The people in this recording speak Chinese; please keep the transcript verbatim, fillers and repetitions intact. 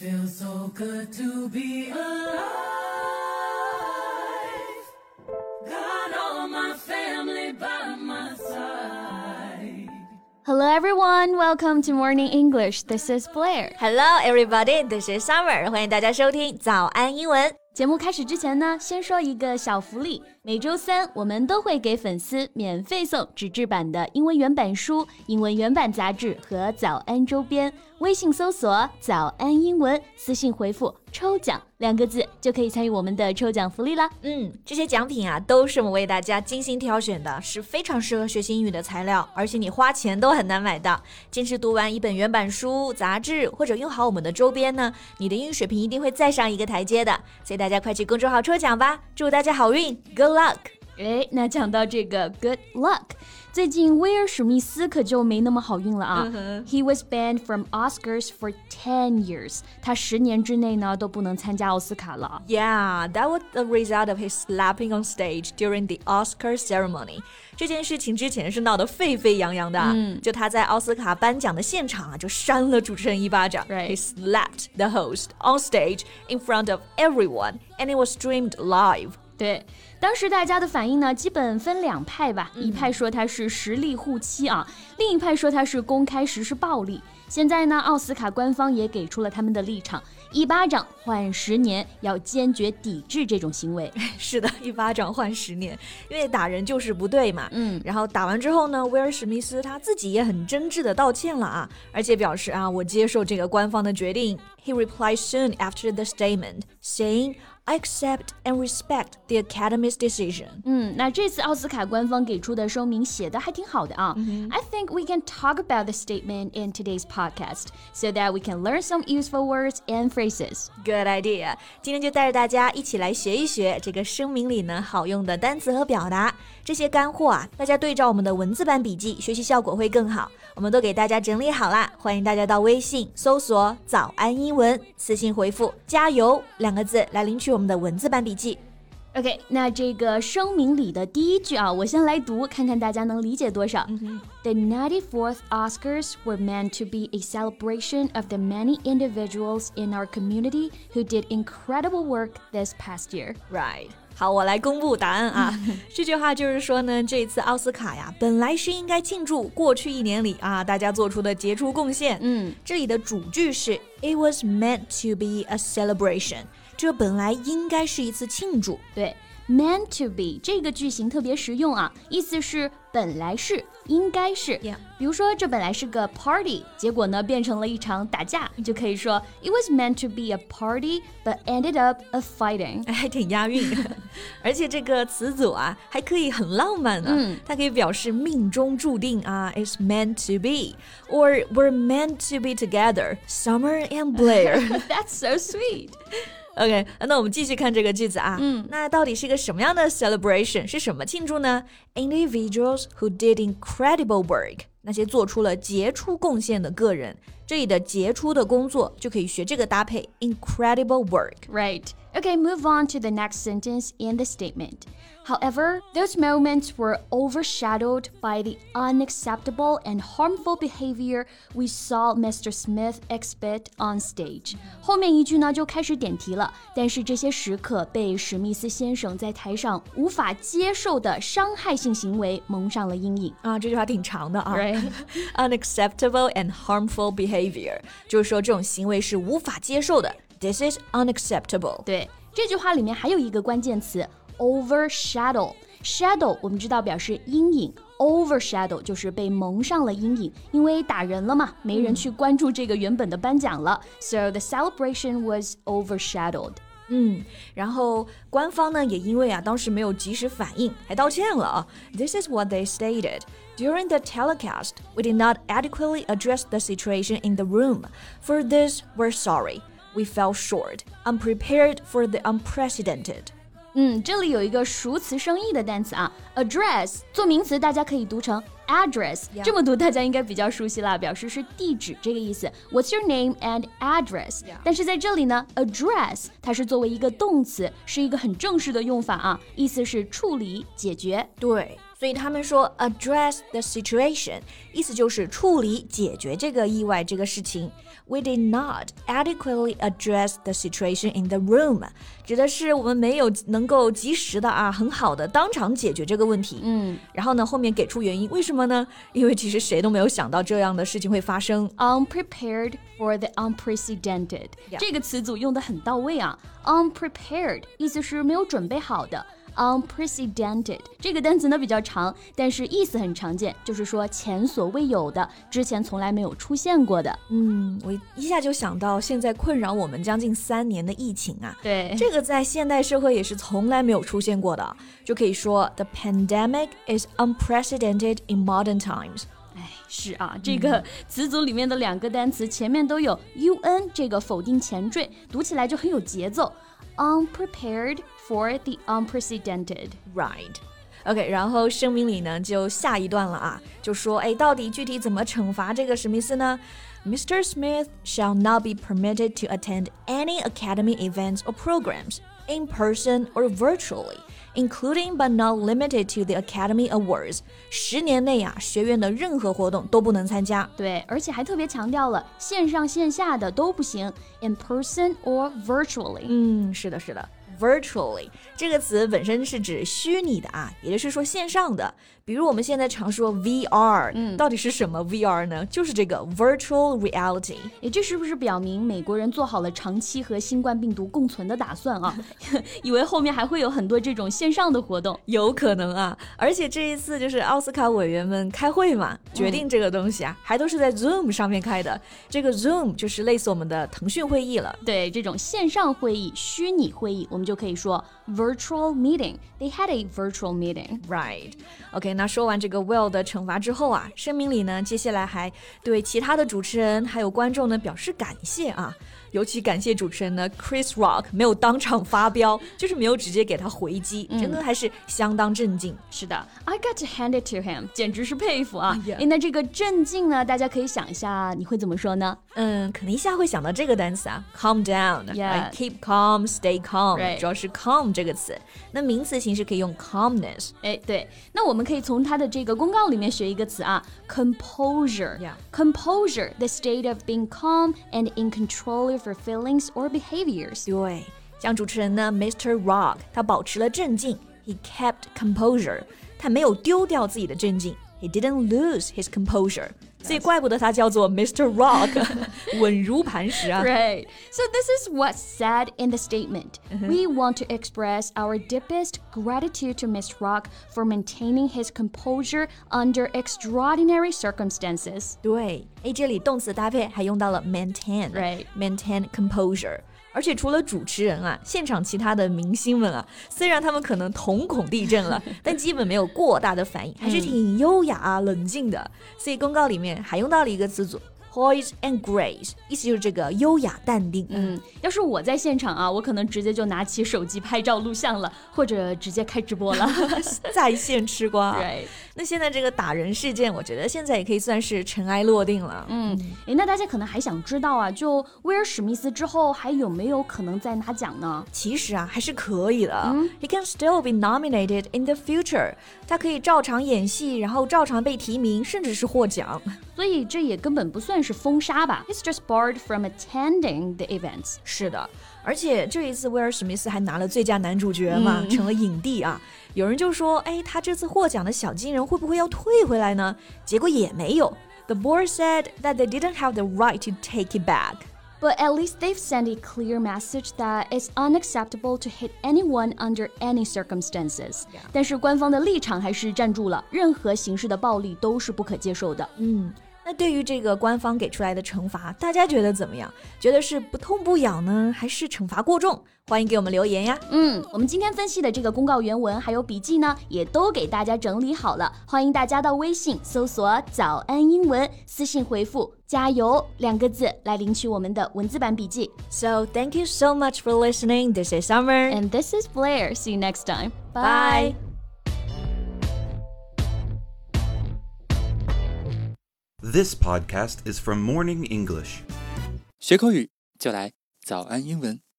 feels so good to be alive. Got all my family by my side. Hello everyone, welcome to Morning English. This is Blair. Hello everybody, this is Summer. 欢迎大家收听早安英文。 节目开始之前呢，先说一个小福利。每周三我们都会给粉丝免费送纸质版的英文原版书、英文原版杂志和早安周边。微信搜索早安英文，私信回复抽奖两个字就可以参与我们的抽奖福利啦。 嗯，这些奖品啊都是我们为大家精心挑选的，是非常适合学习英语的材料，而且你花钱都很难买到。坚持读完一本原版书、杂志或者用好我们的周边呢，你的英语水平一定会再上一个台阶的。所以大家快去公众号抽奖吧，祝大家好运 Good luck。 诶，那讲到这个 Good luck， 最近威尔史密斯可就没那么好运了啊、uh-huh. He was banned from Oscars for ten years， 他十年之内呢都不能参加奥斯卡了。 Yeah, that was the result of his slapping on stage during the Oscar ceremony。 这件事情之前是闹得沸沸扬扬的、嗯、就他在奥斯卡颁奖的现场啊就扇了主持人一巴掌、 right. He slapped the host on stage in front of everyone and it was streamed live。 对，当时大家的反应呢，基本分两派吧、嗯、一派说他是实力护妻啊，另一派说他是公开实施暴力。现在呢，奥斯卡官方也给出了他们的立场，一巴掌换十年，要坚决抵制这种行为。 是的，一巴掌换十年，因为打人就是不对嘛。嗯，然后打完之后呢，威尔史密斯他自己也很真挚的道歉了啊，而且表示啊，我接受这个官方的决定。He replied soon after the statement, saying,I accept and respect the Academy's decision. 嗯，那这次奥斯卡官方给出的声明写的还挺好的啊。Mm-hmm. I think we can talk about the statement in today's podcast so that we can learn some useful words and phrases. Good idea. 今天就带着大家一起来学一学这个声明里呢好用的单词和表达。这些干货啊，大家对照我们的文字版笔记，学习效果会更好。我们都给大家整理好啦，欢迎大家到微信搜索早安英文，私信回复加油两个字来领取我们的文字版笔记。 OK， 那这个声明里的第一句啊，我先来读，看看大家能理解多少。Mm-hmm. The ninety-fourth Oscars were meant to be a celebration of the many individuals in our community who did incredible work this past year. Right. 好，我来公布答案啊。这句话就是说呢，这次奥斯卡呀，本来是应该庆祝过去一年里啊大家做出的杰出贡献。嗯，这里的主句是 It was meant to be a celebration， 这本来应该是一次庆祝。 对。Meant to be 这个句型特别实用啊，意思是本来是，应该是。 Yeah. 比如说这本来是个 party， 结果呢变成了一场打架，你就可以说 It was meant to be a party, but ended up a fighting。 还挺押韵。而且这个词组啊还可以很浪漫啊、嗯、它可以表示命中注定啊 It's meant to be or we're meant to be together, Summer and Blair。 That's so sweet。 OK， 那我们继续看这个句子啊。嗯，那到底是一个什么样的 celebration？ 是什么庆祝呢？ Individuals who did incredible work， 那些做出了杰出贡献的个人。这里的杰出的工作就可以学这个搭配 incredible work。 Right. Okay, move on to the next sentence in the statement. However, those moments were overshadowed by the unacceptable and harmful behavior we saw Mister Smith exhibit on stage. 后面一句呢就开始点题了，但是这些时刻被史密斯先生在台上无法接受的伤害性行为蒙上了阴影啊。这句话挺长的啊。 Right. Unacceptable and harmful behavior， 就是说这种行为是无法接受的。This is unacceptable。 对，这句话里面还有一个关键词overshadow。 Shadow 我们知道表示阴影， overshadow 就是被蒙上了阴影，因为打人了嘛，没人去关注这个原本的颁奖了、嗯、So the celebration was overshadowed。 嗯，然后官方呢也因为啊当时没有及时反应还道歉了啊。 This is what they stated. During the telecast, we did not adequately address the situation in the room. For this, we're sorry.We fell short, unprepared for the unprecedented. 嗯，这里有一个熟词生义的单词啊 ，address 做名词，大家可以读成 address， yeah. 这么读大家应该比较熟悉了，表示是地址这个意思。What's your name and address？、Yeah. 但是在这里呢 ，address 它是作为一个动词，是一个很正式的用法啊，意思是处理、解决。 对。所以他们说 address the situation， 意思就是处理解决这个意外这个事情。 We did not adequately address the situation in the room， 指的是我们没有能够及时的啊，很好的当场解决这个问题。 嗯， 然后呢，后面给出原因，为什么呢？因为其实谁都没有想到这样的事情会发生。 Unprepared for the unprecedented， Yeah. 这个词组用得很到位啊。Unprepared 意思是没有准备好的。Unprecedented 这个单词呢比较长，但是意思很常见，就是说前所未有的，之前从来没有出现过的。 嗯，我一下就想到现在困扰我们将近三年的疫情啊， 对， 这个在现代社会也是从来没有出现过的，就可以说 The pandemic is unprecedented in modern times。 哎，是啊，这个词组里面的两个单词前面都有 un 这个否定前缀，读起来就很有节奏。Unprepared for the unprecedented. Right. OK， 然后声明里呢就下一段了啊，就说哎，到底具体怎么惩罚这个史密斯呢？ Mister Smith shall not be permitted to attend any academy events or programs, in person or virtually, including but not limited to the Academy Awards. 十年内啊，学院的任何活动都不能参加。 对，而且还特别强调了线上线下的都不行 ，in person or virtually。 嗯，是的，是的。Virtually 这个词本身是指虚拟的啊，也就是说线上的。比如我们现在常说 V R，嗯，到底是什么 V R 呢？就是这个 Virtual Reality。 诶，这是不是表明美国人做好了长期和新冠病毒共存的打算啊？以为后面还会有很多这种线上的活动？ 有可能啊，而且这一次就是奥斯卡委员们开会嘛，决定这个东西啊，嗯、还都是在 Zoom 上面开的。这个 Zoom 就是类似我们的腾讯会议了。 对，这种线上会议、虚拟会议，我们就可以说 virtual meeting. They had a virtual meeting. Right. OK， 那说完这个 Will 的惩罚之后啊，声明里呢，接下来还对其他的主持人还有观众呢表示感谢啊。尤其感谢主持人呢 Chris Rock 没有当场发飙，就是没有直接给他回击，真的还是相当镇静。 是的 I got to hand it to him， 简直是佩服啊。 Yeah. 诶，那这个镇静呢，大家可以想一下你会怎么说呢？ 嗯，可能一下会想到这个单词啊 calm down， Yeah. keep calm stay calm， Right. 主要是 calm 这个词，那名词形式可以用 calmness。 诶，对，那我们可以从它的这个公告里面学一个词啊 composure。 Yeah. Composure, the state of being calm and in control of your feelings or behaviors。 对，像主持人呢 Mister Rock 他保持了镇静， he kept composure， 他没有丢掉自己的镇静， he didn't lose his composure， 所以怪不得他叫做 Mister Rock 稳如磐石啊。 Right. So this is what's said in the statement. Mm-hmm. We want to express our deepest gratitude to Mister Rock for maintaining his composure under extraordinary circumstances. 对，诶，这里动词搭配还用到了 maintain， Right. maintain composure。而且除了主持人啊，现场其他的明星们啊，虽然他们可能瞳孔地震了，但基本没有过大的反应，还是挺优雅啊、冷静的。所以公告里面还用到了一个词组 poise and grace， 意思就是这个优雅淡定。 嗯，要是我在现场啊，我可能直接就拿起手机拍照录像了，或者直接开直播了。 在线吃瓜。 Right. 那现在这个打人事件，我觉得现在也可以算是尘埃落定了。 嗯，诶，那大家可能还想知道啊，就威尔史密斯之后还有没有可能再拿奖呢？ 其实啊，还是可以的。嗯、He can still be nominated in the future。他可以照常演戏，然后照常被提名，甚至是获奖。 所以这也根本不算是封杀吧 ？He's just barred from attending the events。 是的，而且这一次威尔史密斯还拿了最佳男主角嘛，嗯、成了影帝啊。有人就说，哎，他这次获奖的小金人会不会要退回来呢？结果也没有。The board said that they didn't have the right to take it back. But at least they've sent a clear message that it's unacceptable to hit anyone under any circumstances. Yeah. 但是官方的立场还是站住了，任何形式的暴力都是不可接受的。 嗯。那对于这个官方给出来的惩罚，大家觉得怎么样？觉得是不痛不痒呢，还是惩罚过重？欢迎给我们留言呀。 嗯，我们今天分析的这个公告原文还有笔记呢，也都给大家整理好了。欢迎大家到微信搜索早安英文，私信回复加油两个字来领取我们的文字版笔记。 So thank you so much for listening. This is Summer. And this is Blair. See you next time. Bye. This podcast is from Morning English. 学口语就来早安英文。